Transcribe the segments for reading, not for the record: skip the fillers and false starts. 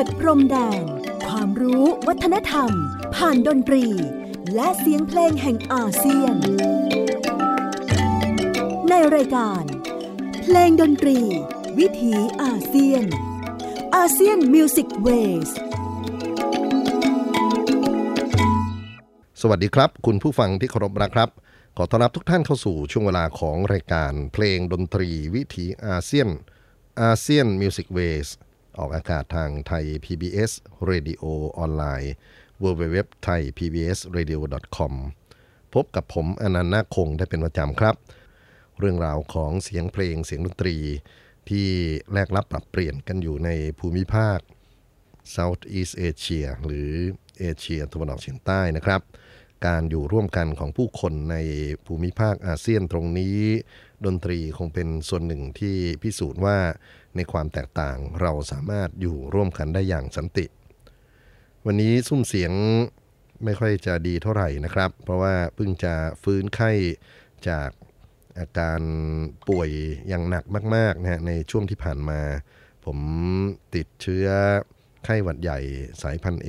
ดพรมแดนความรู้วัฒนธรรมผ่านดนตรีและเสียงเพลงแห่งอาเซียนในรายการเพลงดนตรีวิถีอาเซียนอาเซียนมิวสิกเวสสวัสดีครับคุณผู้ฟังที่เคารพรักครับขอต้อนรับทุกท่านเข้าสู่ช่วงเวลาของรายการเพลงดนตรีวิถีอาเซียนอาเซียนมิวสิกเวสออกอากาศทางไทย PBS Radio ออนไลน์ www.thaipbsradio.com พบกับผมอนันต์ นาคคงได้เป็นประจำครับเรื่องราวของเสียงเพลงเสียงดนตรีที่แลกรับปรับเปลี่ยนกันอยู่ในภูมิภาค Southeast Asia หรือเอเชียตะวันออกเฉียงใต้นะครับการอยู่ร่วมกันของผู้คนในภูมิภาคอาเซียนตรงนี้ดนตรีคงเป็นส่วนหนึ่งที่พิสูจน์ว่าในความแตกต่างเราสามารถอยู่ร่วมกันได้อย่างสันติวันนี้ซุ้มเสียงไม่ค่อยจะดีเท่าไหร่นะครับเพราะว่าเพิ่งจะฟื้นไข้จากอาการป่วยอย่างหนักมากๆนะฮะในช่วงที่ผ่านมาผมติดเชื้อไข้หวัดใหญ่สายพันธุ์ A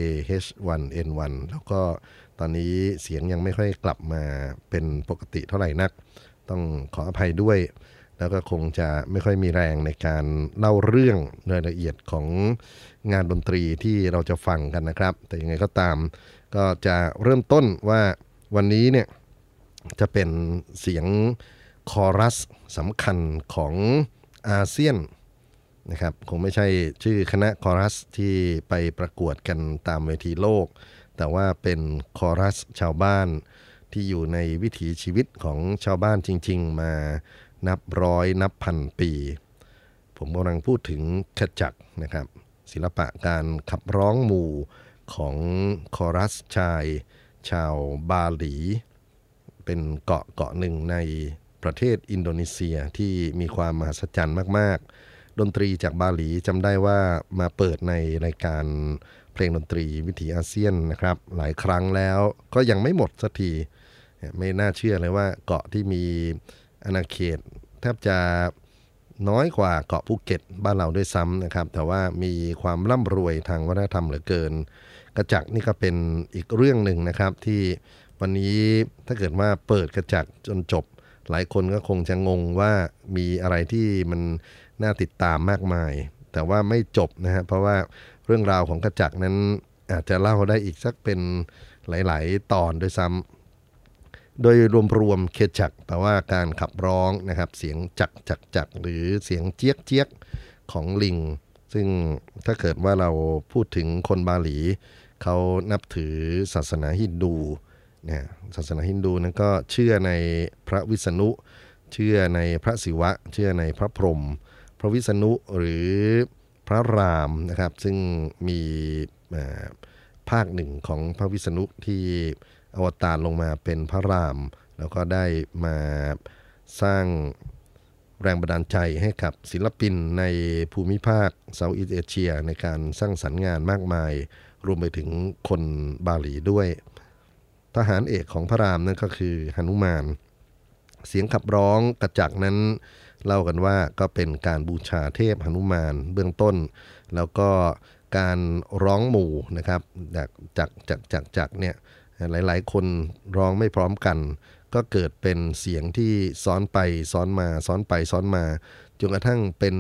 H1N1 แล้วก็ตอนนี้เสียงยังไม่ค่อยกลับมาเป็นปกติเท่าไหร่นักต้องขออภัยด้วยแล้วก็คงจะไม่ค่อยมีแรงในการเล่าเรื่องรายละเอียดของงานดนตรีที่เราจะฟังกันนะครับแต่ยังไงก็ตามก็จะเริ่มต้นว่าวันนี้เนี่ยจะเป็นเสียงคอรัสสำคัญของอาเซียนนะครับคงไม่ใช่ชื่อคณะคอรัสที่ไปประกวดกันตามเวทีโลกแต่ว่าเป็นคอรัสชาวบ้านที่อยู่ในวิถีชีวิตของชาวบ้านจริงๆมานับร้อยนับพันปีผมกำลังพูดถึงขจักนะครับศิลปะการขับร้องหมู่ของคอรัสชายชาวบาหลีเป็นเกาะหนึ่งในประเทศอินโดนีเซียที่มีความมหัศจรรย์มากๆดนตรีจากบาหลีจำได้ว่ามาเปิดในรายการเพลงดนตรีวิถีอาเซียนนะครับหลายครั้งแล้วก็ยังไม่หมดสักทีไม่น่าเชื่อเลยว่าเกาะที่มีอาณาเขตแทบจะน้อยกว่าเกาะภูเก็ตบ้านเราด้วยซ้ำนะครับแต่ว่ามีความร่ำรวยทางวัฒนธรรมเหลือเกินกระจักนี่ก็เป็นอีกเรื่องหนึ่งนะครับที่วันนี้ถ้าเกิดว่าเปิดกระจักจนจบหลายคนก็คงจะงงว่ามีอะไรที่มันน่าติดตามมากมายแต่ว่าไม่จบนะฮะเพราะว่าเรื่องราวของกระจักนั้นอาจจะเล่าได้อีกสักเป็นหลายๆตอนด้วยซ้ำโดยรวมๆเคจักแปลว่าการขับร้องนะครับเสียงจักหรือเสียงเจี๊ยกของลิงซึ่งถ้าเกิดว่าเราพูดถึงคนบาหลีเขานับถือศาสนาฮินดูนะศาสนาฮินดูนั้นก็เชื่อในพระวิษณุเชื่อในพระศิวะเชื่อในพระพรหมพระวิษณุหรือพระรามนะครับซึ่งมีภาคหนึ่งของพระวิษณุที่อวตารลงมาเป็นพระรามแล้วก็ได้มาสร้างแรงบันดาลใจให้กับศิลปินในภูมิภาคเซาท์อีสต์เอเชียในการสร้างสรรค์งานมากมายรวมไปถึงคนบาหลีด้วยทหารเอกของพระรามนั่นก็คือหนุมานเสียงขับร้องกระจักนั้นเล่ากันว่าก็เป็นการบูชาเทพหนุมานเบื้องต้นแล้วก็การร้องหมู่นะครับจากเนี่ยหลายๆคนร้องไม่พร้อมกันก็เกิดเป็นเสียงที่ซ้อนไปซ้อนมาซ้อนไปซ้อนมาจนกระทั่งเป็น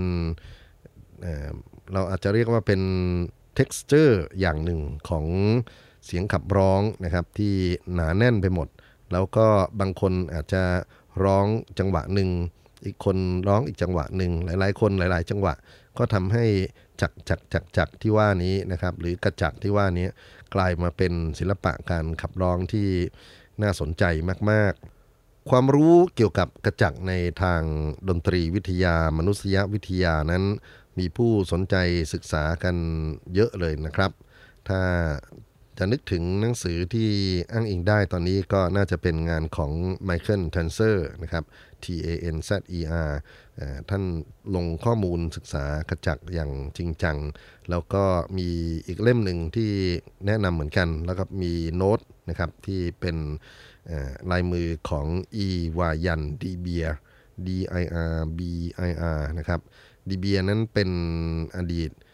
เราอาจจะเรียกว่าเป็น texture อย่างหนึ่งของเสียงขับร้องนะครับที่หนาแน่นไปหมดแล้วก็บางคนอาจจะร้องจังหวะหนึ่งอีกคนร้องอีกจังหวะหนึ่งหลายๆคนหลายๆจังหวะก็ทำให้จักที่ว่านี้นะครับหรือกระจักที่ว่านี้กลายมาเป็นศิลปะการขับร้องที่น่าสนใจมากๆความรู้เกี่ยวกับกระจักในทางดนตรีวิทยามนุษยวิทยานั้นมีผู้สนใจศึกษากันเยอะเลยนะครับถ้าจะนึกถึงหนังสือที่อ้างอิงได้ตอนนี้ก็น่าจะเป็นงานของไมเคิลเทนเซอร์นะครับ TANZER ท่านลงข้อมูลศึกษากระจักอย่างจริงจังแล้วก็มีอีกเล่มหนึ่งที่แนะนำเหมือนกันแล้วก็มีโน้ตนะครับที่เป็นลายมือของอีวายันดีเบีย DIRBIR นะครับดีเบียนั้นเป็นอดีต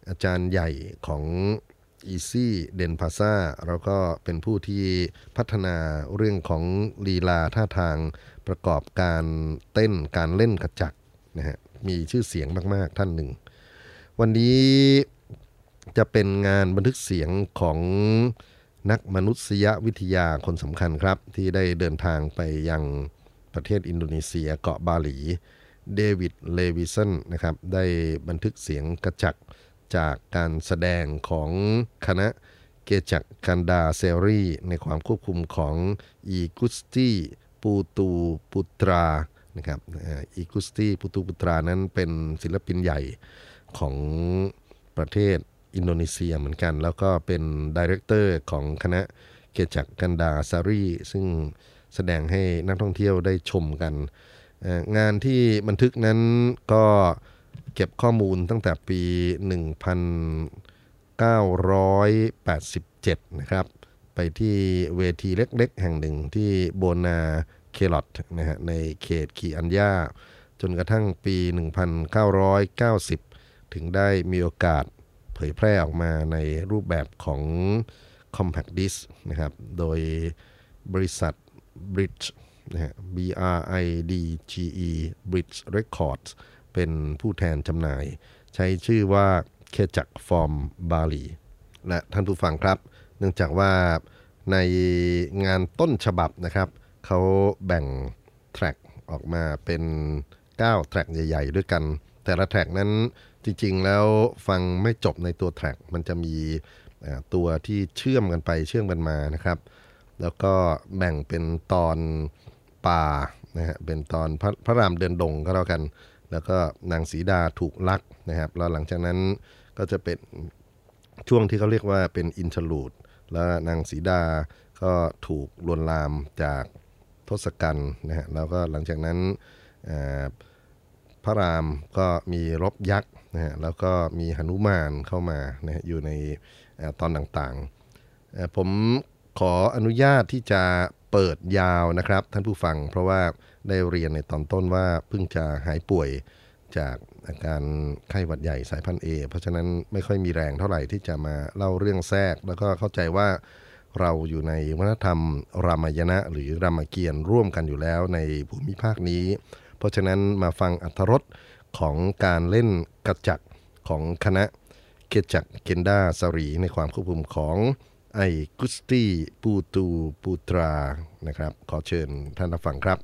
อาจารย์ใหญ่ของอีซี่เดนพาซาแล้วก็เป็นผู้ที่พัฒนาเรื่องของลีลาท่าทางประกอบการเต้นการเล่นกระจักนะฮะมีชื่อเสียงมากๆท่านหนึ่งวันนี้จะเป็นงานบันทึกเสียงของนักมนุษยวิทยาคนสำคัญครับที่ได้เดินทางไปยังประเทศอินโดนีเซียเกาะบาหลีเดวิดเลวิสันนะครับได้บันทึกเสียงกระจักจากการแสดงของคณะเกจักกันดาเซรีในความควบคุมของอีกุสตีปูตูปุตรานะครับอีกุสตีปูตูปุตรานั้นเป็นศิลปินใหญ่ของประเทศอินโดนีเซียเหมือนกันแล้วก็เป็นไดเรคเตอร์ของคณะเกจักกันดาเซรีซึ่งแสดงให้นักท่องเที่ยวได้ชมกันงานที่บันทึกนั้นก็เก็บข้อมูลตั้งแต่ปี 1987 นะครับไปที่เวทีเล็กๆแห่งหนึ่งที่โบนาเคลอตนะฮะในเขตคีอัญญาจนกระทั่งปี 1990 ถึงได้มีโอกาสเผยแพร่ออกมาในรูปแบบของ Compact Disc นะครับโดยบริษัท Bridge นะฮะ BRIDGE Bridge Records เป็นผู้แทนจำหน่ายใช้ชื่อว่าเคจักฟอร์มบาหลีและท่านผู้ฟังครับเนื่องจากว่าในงานต้นฉบับนะครับเขาแบ่งแทร็กออกมาเป็น9แทร็กใหญ่ๆด้วยกันแต่ละแทร็กนั้นจริงๆแล้วฟังไม่จบในตัวแทร็กมันจะมีตัวที่เชื่อมกันไปเชื่อมกันมานะครับแล้วก็แบ่งเป็นตอนป่านะฮะเป็นตอนพระรามเดินดงก็แล้วกันแล้วก็นางสีดาถูกลักนะครับแล้วหลังจากนั้นก็จะเป็นช่วงที่เขาเรียกว่าเป็นอินเทอร์ลูดแล้วนางสีดาก็ถูกลวนลามจากทศกัณฐ์นะฮะแล้วก็หลังจากนั้นพระรามก็มีรบยักษ์นะฮะแล้วก็มีหนุมานเข้ามานะฮะอยู่ในตอนต่างๆผมขออนุญาตที่จะเปิดยาวนะครับท่านผู้ฟังเพราะว่าได้เรียนในตอนต้นว่าเพิ่งจะหายป่วยจากอาการไข้หวัดใหญ่สายพันธุ์ A เพราะฉะนั้นไม่ค่อยมีแรงเท่าไหร่ที่จะมาเล่าเรื่องแทรกแล้วก็เข้าใจว่าเราอยู่ในวัฒนธรรมรามายณะหรือรามเกียรติ์ร่วมกันอยู่แล้วในภูมิภาคนี้เพราะฉะนั้นมาฟังอรรถรสของการเล่นกระจักของคณะเกจักเกนดาสรีในความควบคุมของไอกุสตีปูตูปูตรานะครับขอเชิญท่านรับฟังครับ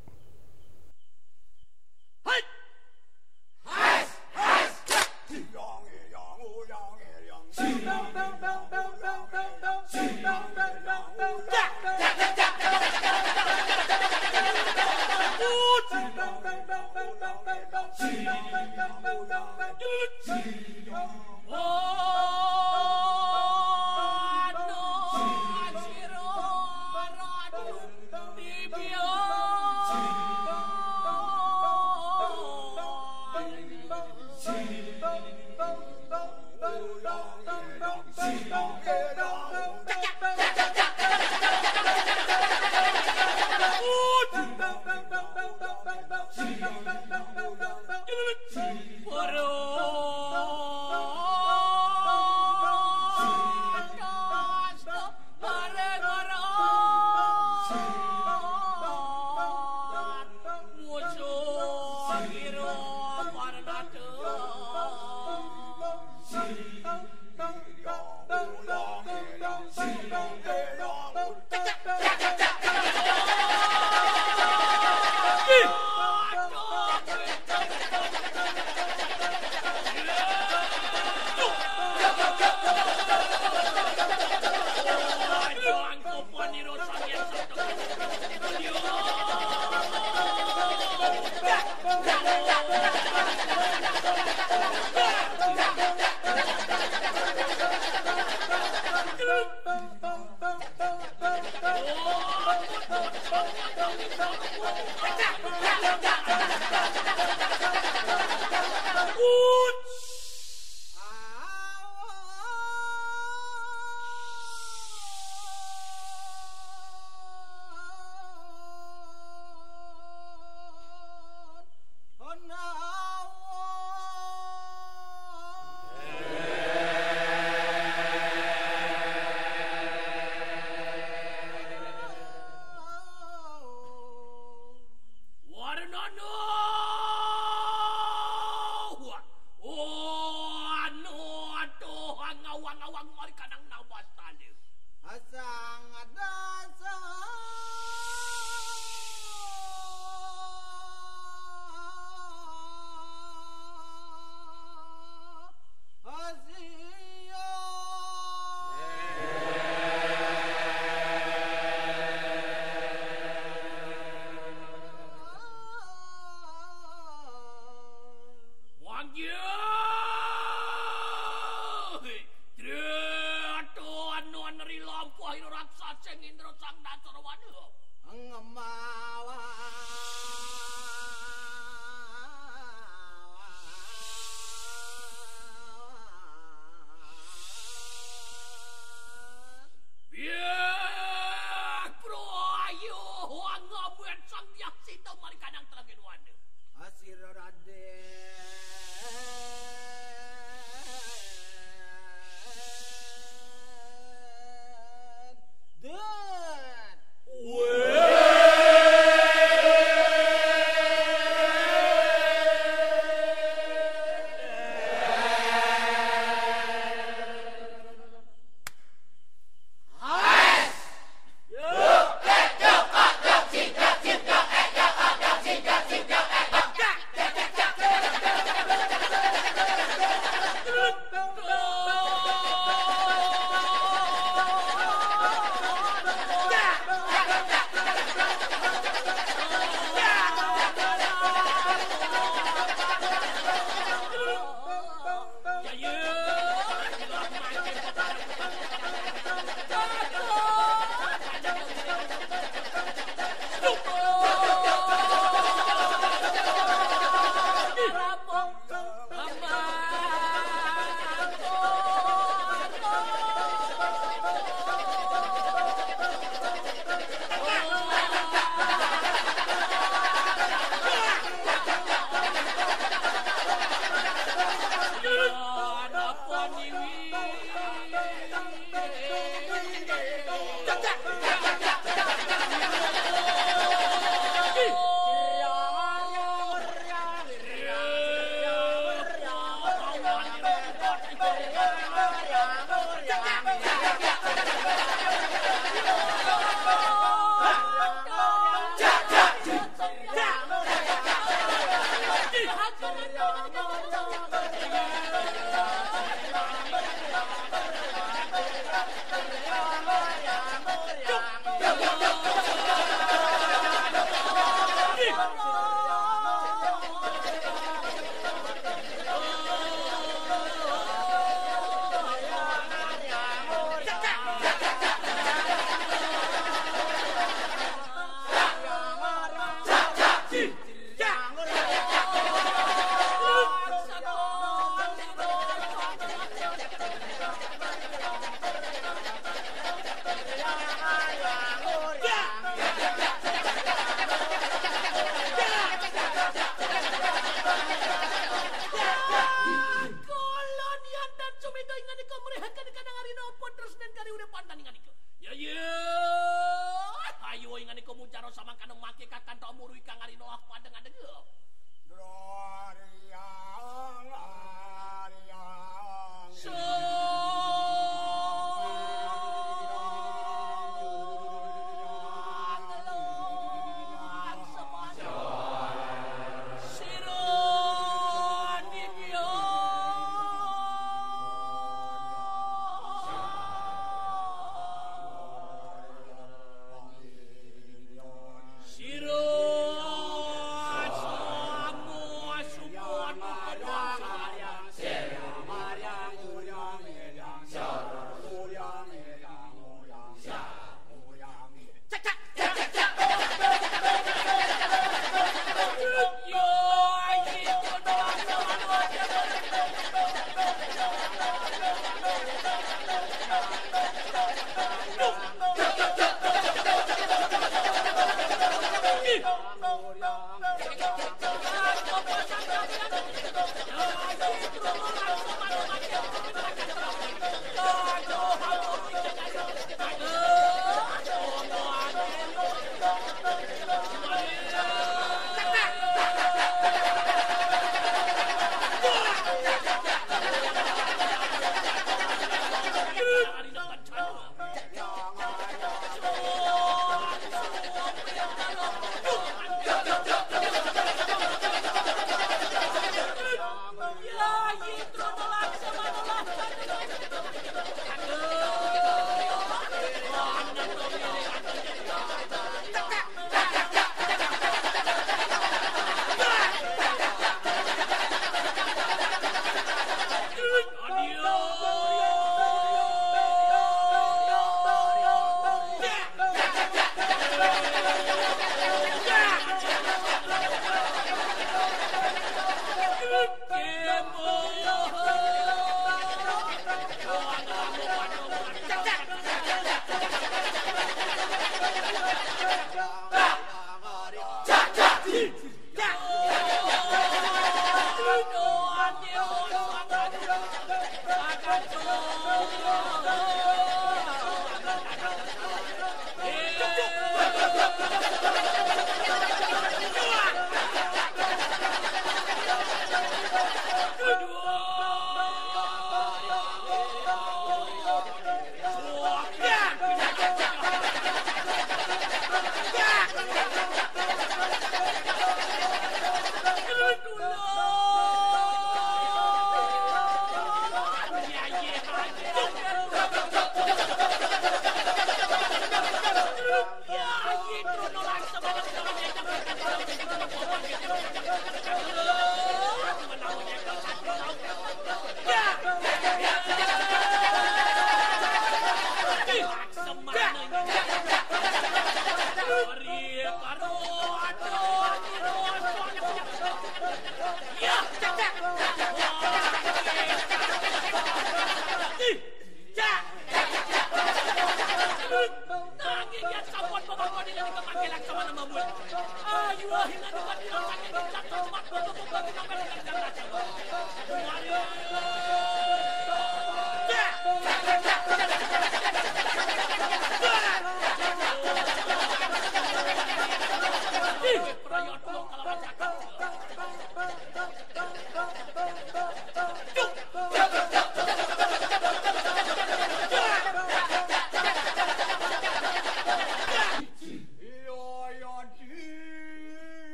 Long lawang mari kanang nawas tali. Asang adasa Asia Wangya Raksasa Indra sang Dasarawada Angamawa biak pro ayo wangabuan sang yaksita mari kanang telagin wanda Asir Raden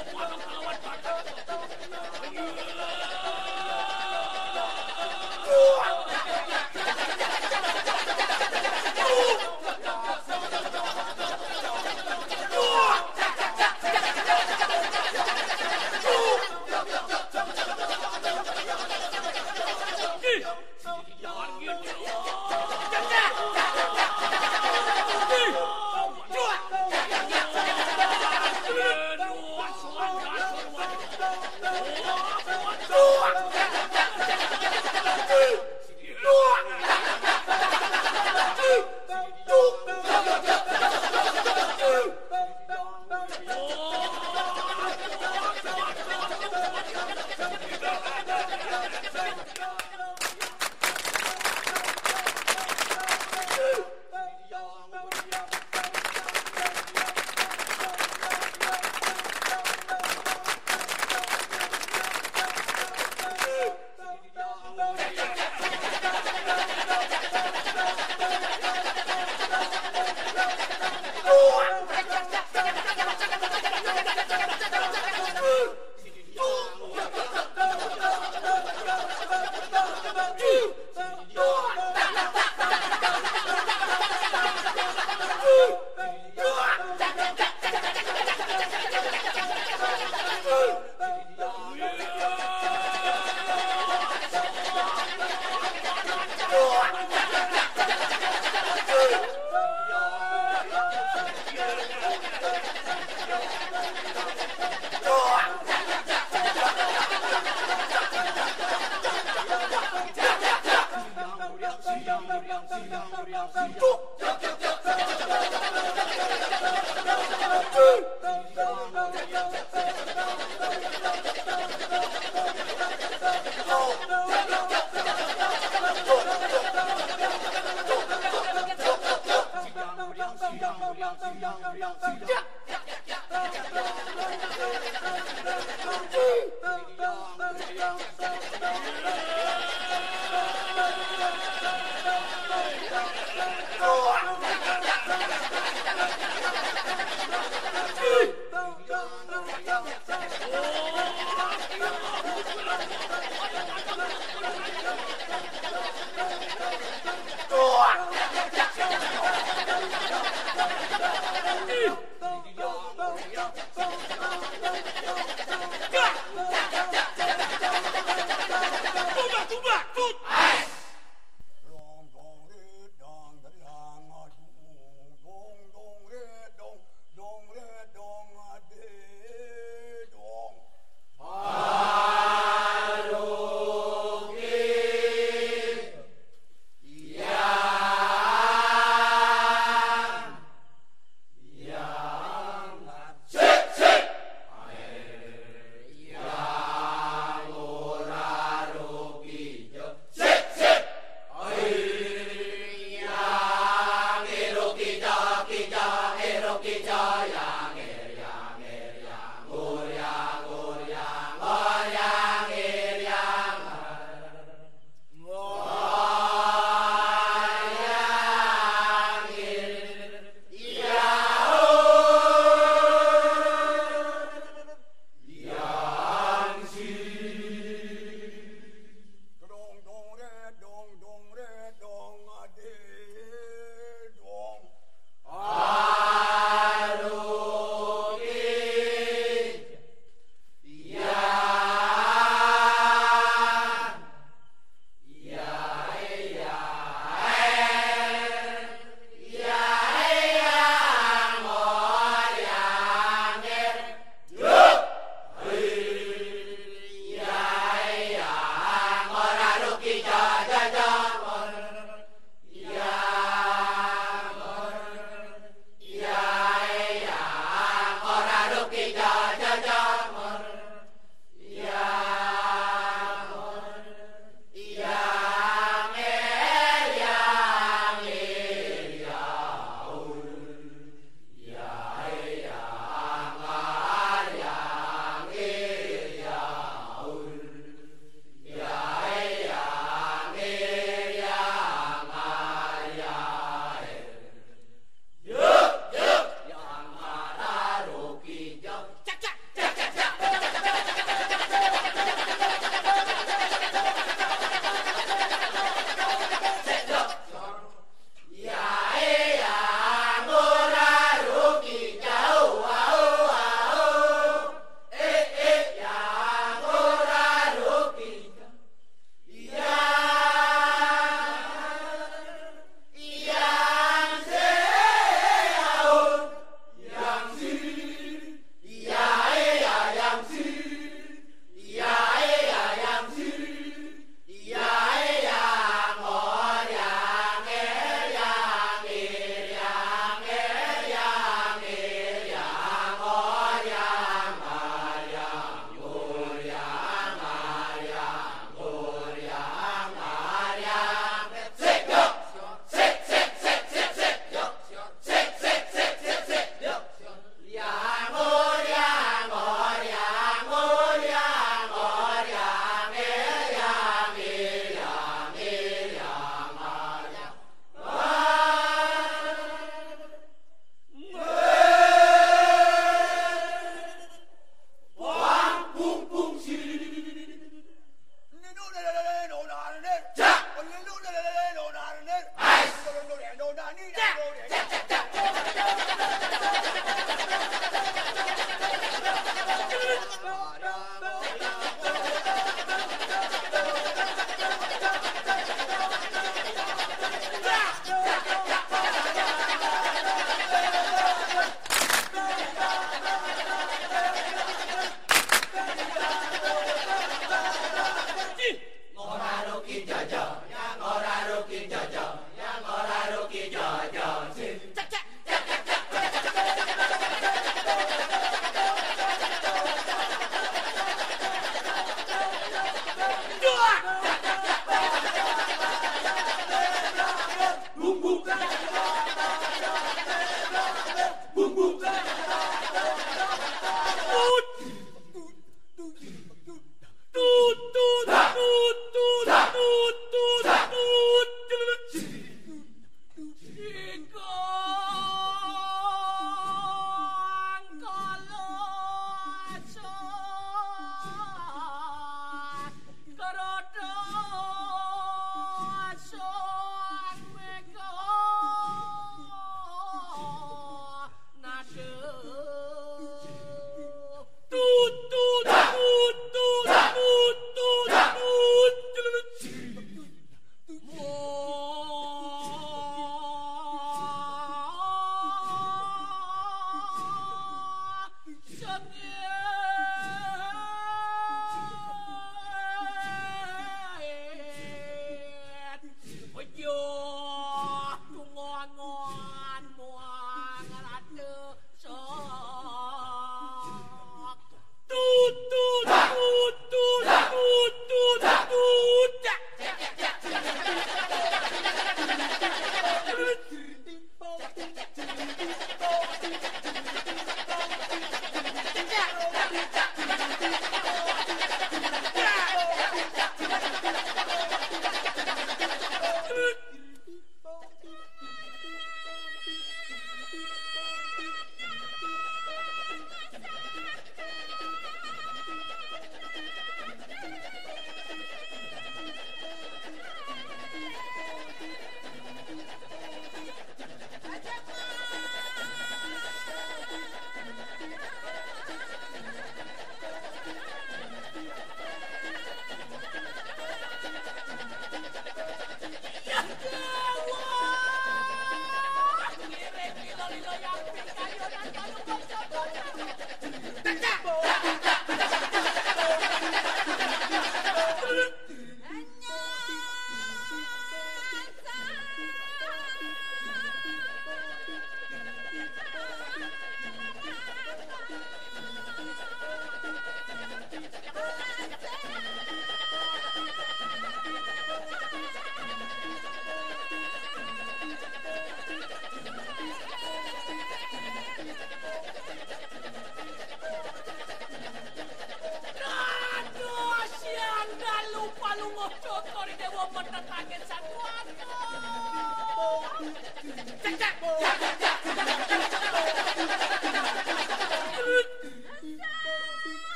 Hallå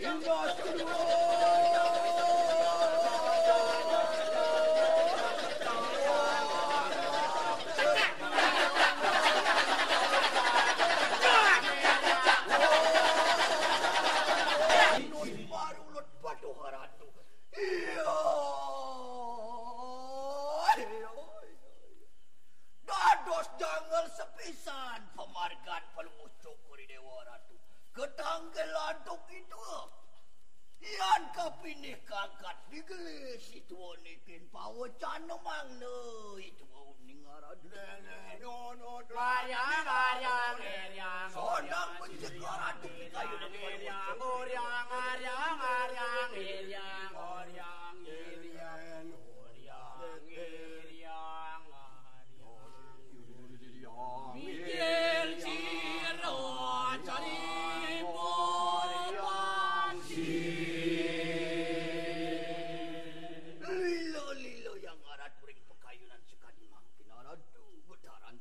Dados jangan sepisan pemargan Palungocok kori Dewa Ratu. Ketanggelan tok itu. Yan kapinih kakak digelis itu nikin pawacan mangna itu uning arad. Maryang Sodang mencegah ratu kayu Lilo yang arad bering pekayunan sekali mangkin arad betaran.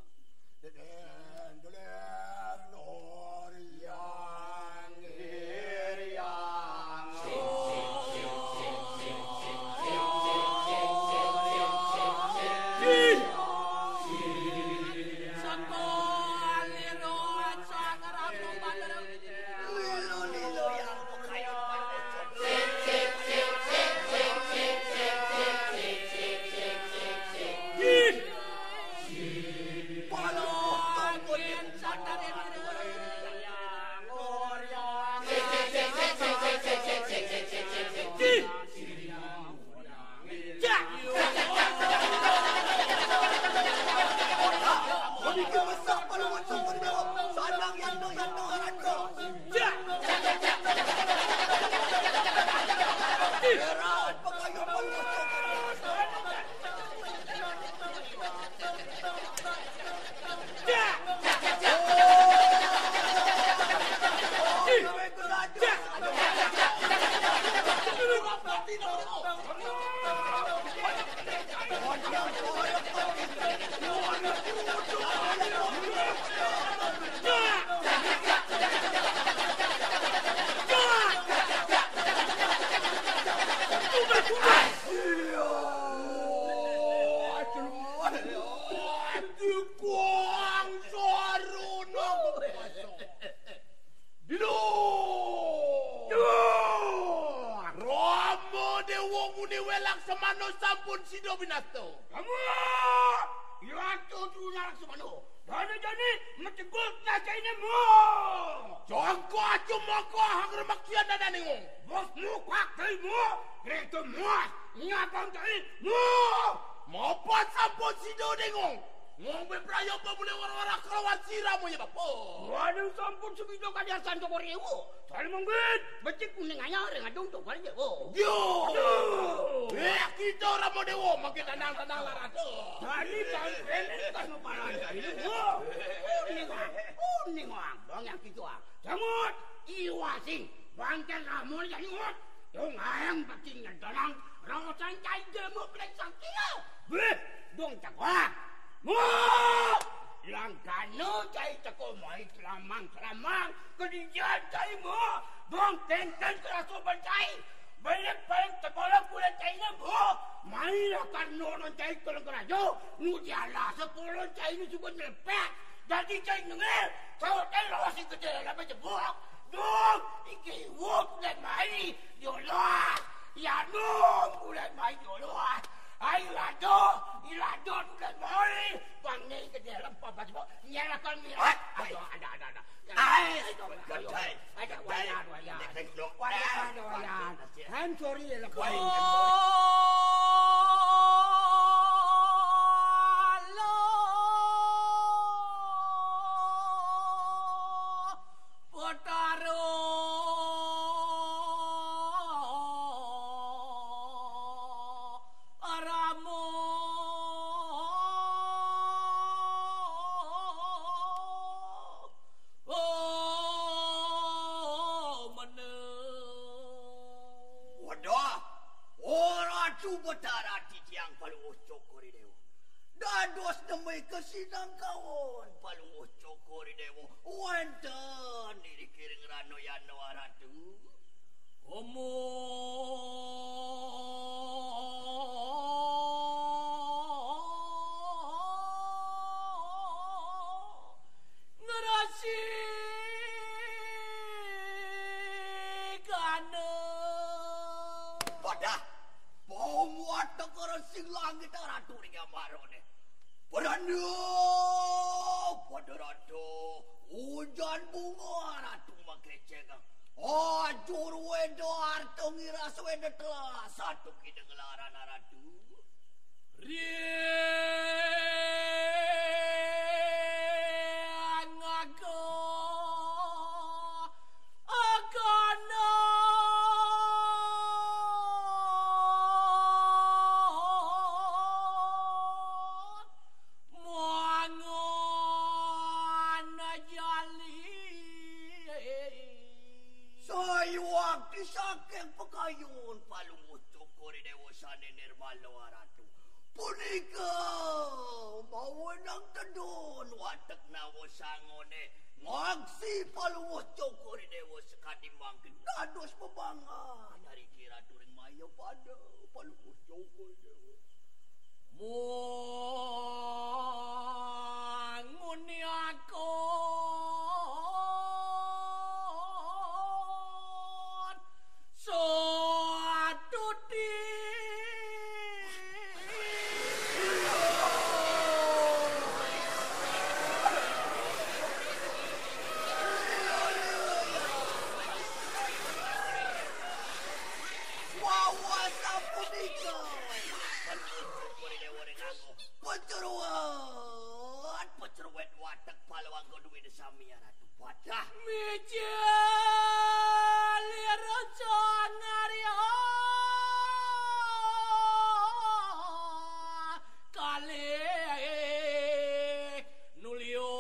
Sampun sido binato. Kamu Iwatu tular semano. Dani mencegul nacaine mo. Jongko acu moko hangre makian dadane ngong. Bosmu kwak tei mo. Greto mo. Nyapang tei mo. Mopo sampun sido dengong. Ngong beprayo pa mule wara-wara kelawan siramu ya bapo. Waduh sampun segitu kadiasan Joko Rewo. Soal mungkin becik kuning anyar ngadung tok kali Dewo. Yo. Kita ora mau Dewo makin tenang-tenang larado. Jadi sampean tas mepalan ini. Uning wang, bang yang gitu ah. Jamut iwasing bangkel ramun jadi ngot. Dong ayang patingnya dalang rawasan cai jemu plek saktia. Beh, dong cakwa. Mo! Langkano cai cako mai selamang kedijan cai mo. Dong tenten kerasuban cai. Banyak paling sekolah pula cai na mo. Mai akan nonon cai kolong kerajo. Nudiala 10 cai ni suka nyepek. Jadi cai nengel. Kau cai lawasi gede apa jebok. Dong, iki wop dan mai yolah. Ya dong, udah mai yolah. Ay, ilado udah mai. Panggil ke dalam papa sebab nyalakan mirat. Ada. Ay, ada wayan. I'm sorry, Dados namay kasinang kawon Palungocok kori Dewo wenten irikiring rano yan nawaratu Wadah, bawa tekor sing langit ratu ring amarone. Berando, pada ratu, hujan bunga ratu makeceng. Ajur wedo arto ngiras wedo telah satu kideng laran ratu. Riang aku agana muangon jali sayuak disakeng pekayun palung ucukuri dewasane nirmalo ratu. Punika mawenang tedon watek nawo sangone ngaksi paluwuh cokori dewa sekadi mangkin dados bebangan dari kira turing maya pada paluwuh cokori dewa manguni aku suatu Penceruat watak palawang godwi desami ratu wadah mijal raja ngario kali nulio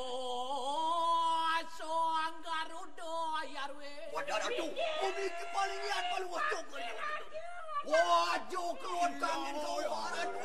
soang garudo yarwe wadah ratu puniki paling lihat paluwah cokor wajo keluar kangen kau ratu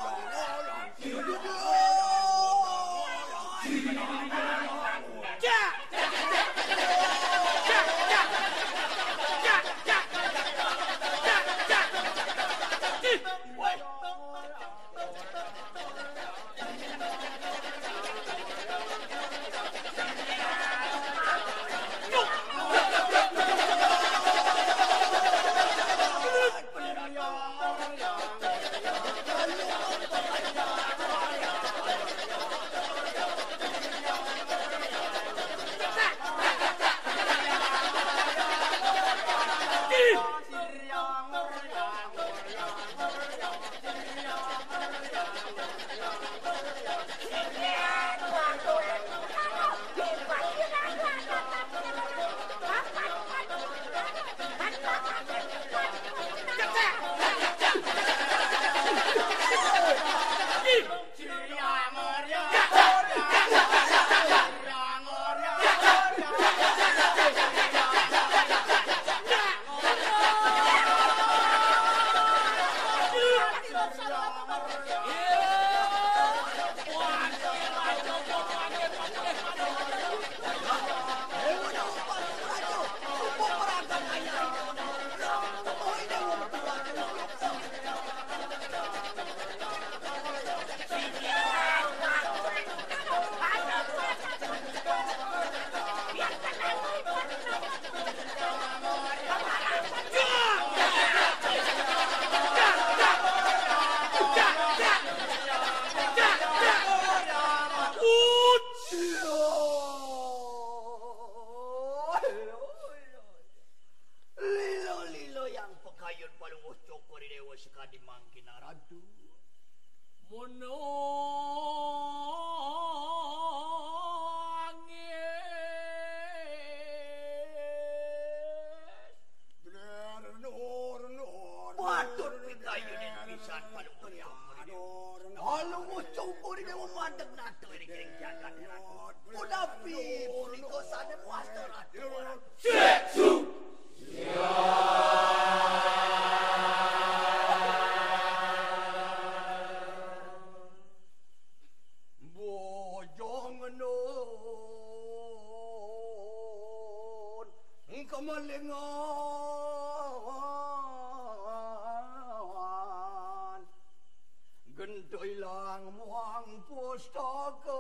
gendoilang muang pustaka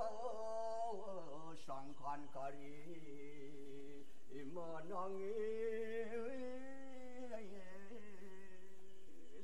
sangkan kari menangi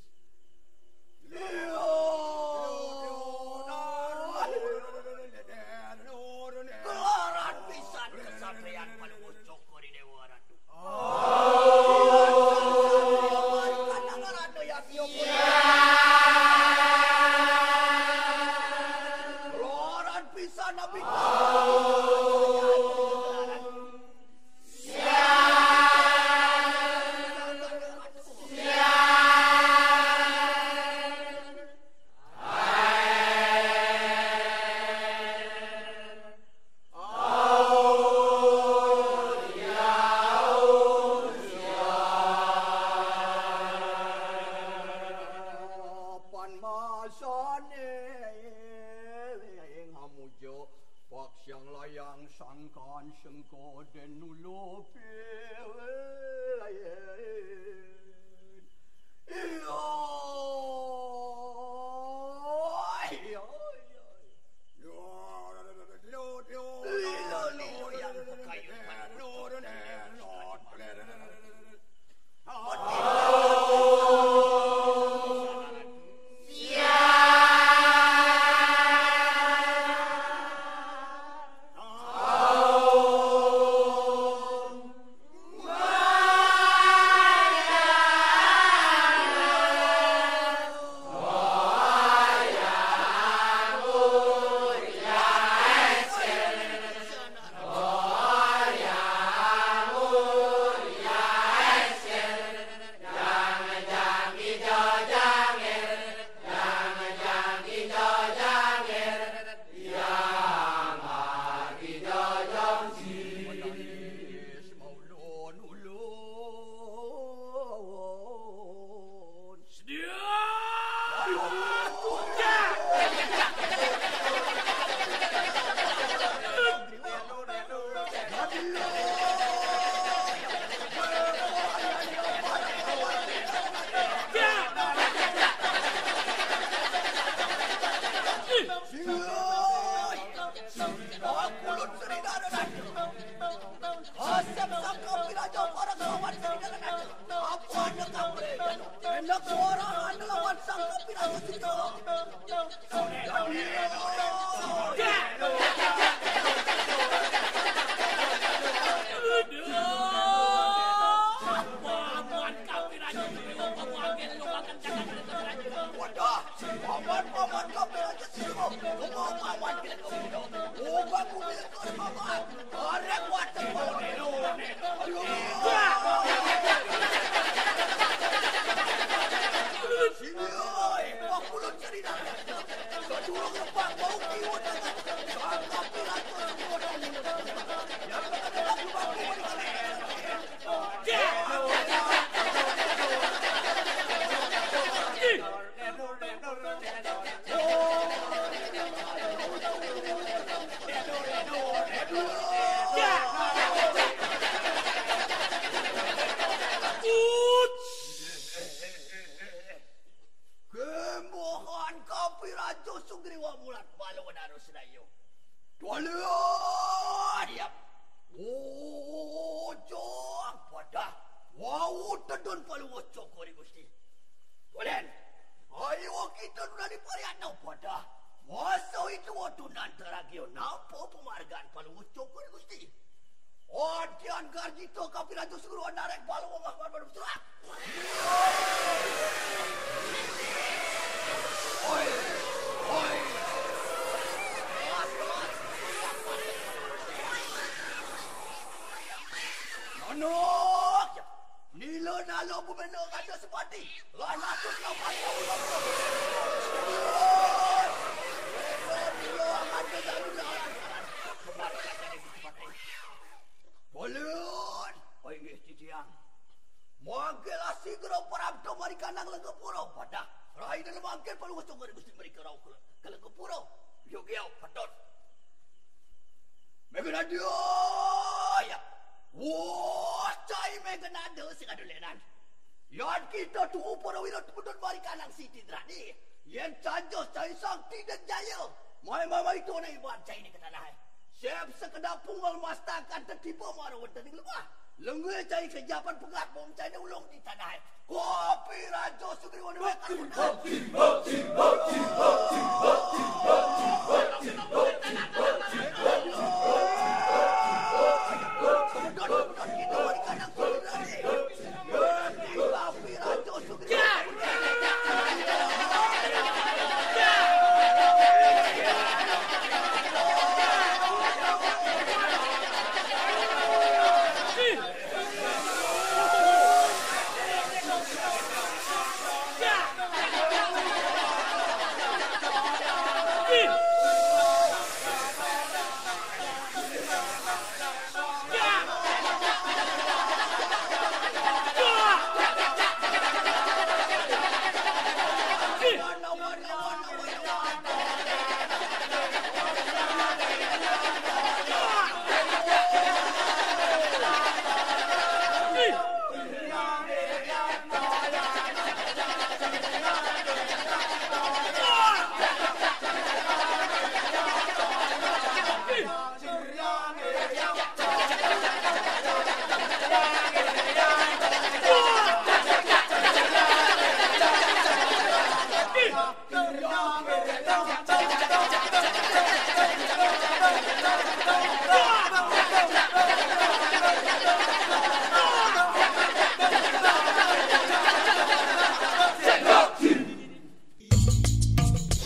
kan sengkoden nulupin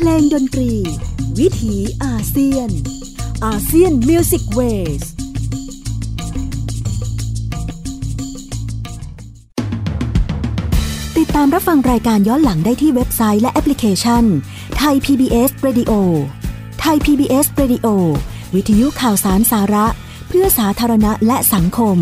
ลงดนตรีวิถีอาเซียนอาเซียนมิวสิกเวสติดตามรับฟังรายการย้อนหลังได้ที่เว็บไซต์และแอปพลิเคชัน Thai PBS Radio Thai PBS Radio วิทยุข่าวสารสาระเพื่อสาธารณะและสังคม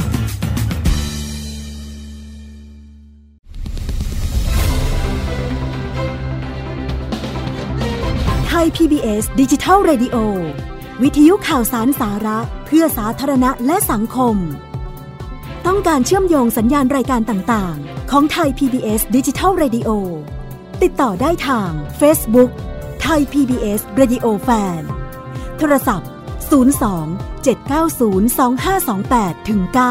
ไทย PBS Digital Radio วิทยุข่าวสารสาระเพื่อสาธารณะและสังคมต้องการเชื่อมโยงสัญญาณรายการต่างๆของไทย PBS Digital Radio ติดต่อได้ทาง Facebook Thai PBS Radio Fan โทรศัพท์02 790 2528-9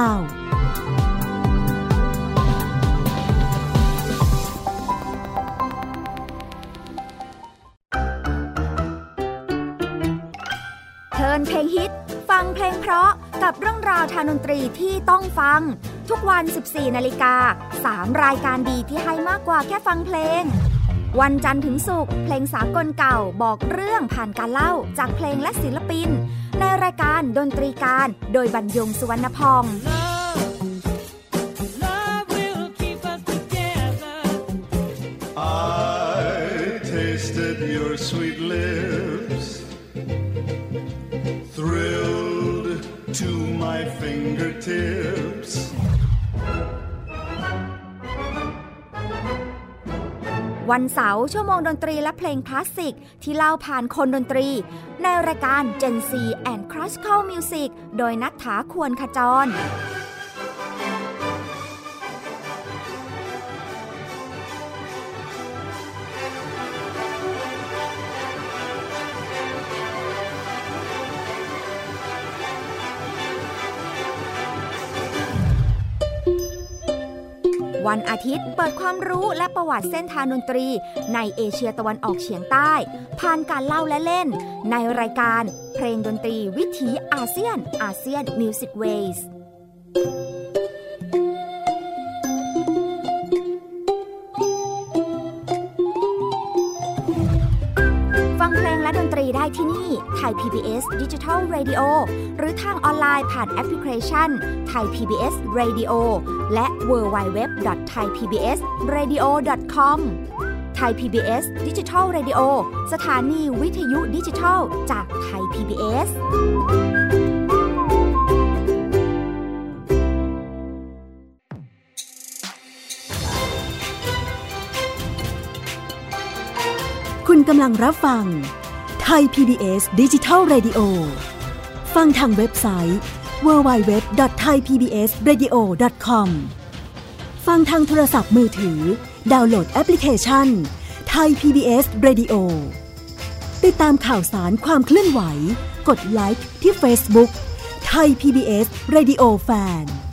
เพลงฮิตฟังเพลงเพราะกับเรื่องราวทางดนตรีที่ต้องฟังทุกวัน 14 นาฬิกา 3 รายการดีที่ให้มากกว่าแค่ฟังเพลงวันจันทร์ถึงศุกร์เพลงสากลเก่าบอกเรื่องผ่านการเล่าจากเพลงและศิลปินในรายการดนตรีการโดยบรรยงสุวรรณพอง To my fingertips วันเสาร์ชั่วโมงดนตรีและเพลงคลาสสิกที่เล่าผ่านคนดนตรีในรายการ Gen Z and Classical Music โดยณัฐฐา ควรขจรวันอาทิตย์เปิดความรู้และประวัติเส้นทางดนตรีในเอเชียตะวันออกเฉียงใต้ผ่านการเล่าและเล่นในรายการเพลงดนตรีวิถีอาเซียนอาเซียนมิวสิกเวสฟังเพลงและดนตรีได้ที่นี่ Thai PBS Digital Radio หรือทางออนไลน์ผ่านแอปพลิเคชัน Thai PBS Radio และ www.thaipbsradio.com Thai PBS Digital Radio สถานีวิทยุดิจิทัลจาก Thai PBS คุณกำลังรับฟังไทย PBS Digital Radio ฟังทางเว็บไซต์ www.thaipbsradio.com ฟังทางโทรศัพท์มือถือดาวน์โหลดแอปพลิเคชัน Thai PBS Radio ติดตามข่าวสารความเคลื่อนไหวกดไลค์ที่ Facebook Thai PBS Radio Fan